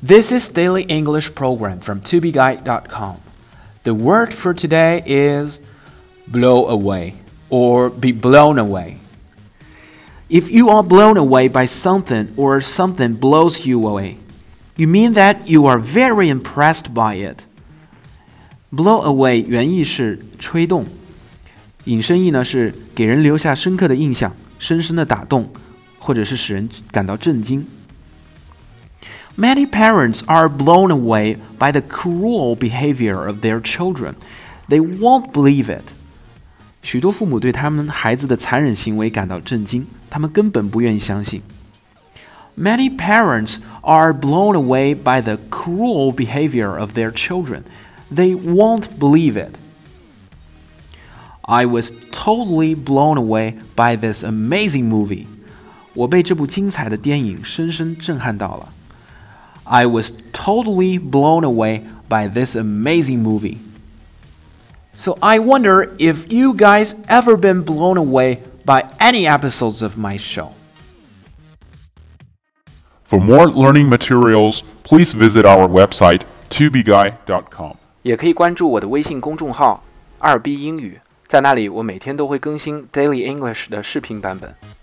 This is Daily English Program from tobeguide.com. The word for today is blow away or be blown away. If you are blown away by something or something blows you away, you mean that you are very impressed by it. Blow away 原意是吹动，引申义呢是给人留下深刻的印象，深深的打动，或者是使人感到震惊。Many parents are blown away by the cruel behavior of their children. They won't believe it. 许多父母对他们孩子的残忍行为感到震惊，他们根本不愿意相信。Many parents are blown away by the cruel behavior of their children. They won't believe it. I was totally blown away by this amazing movie. 我被这部精彩的电影深深震撼到了。I was totally blown away by this amazing movie. So I wonder if you guys ever been blown away by any episodes of my show. For more learning materials, please visit our website, tobeguide.com. 也可以关注我的微信公众号2B英语，在那里我每天都会更新 Daily English 的视频版本。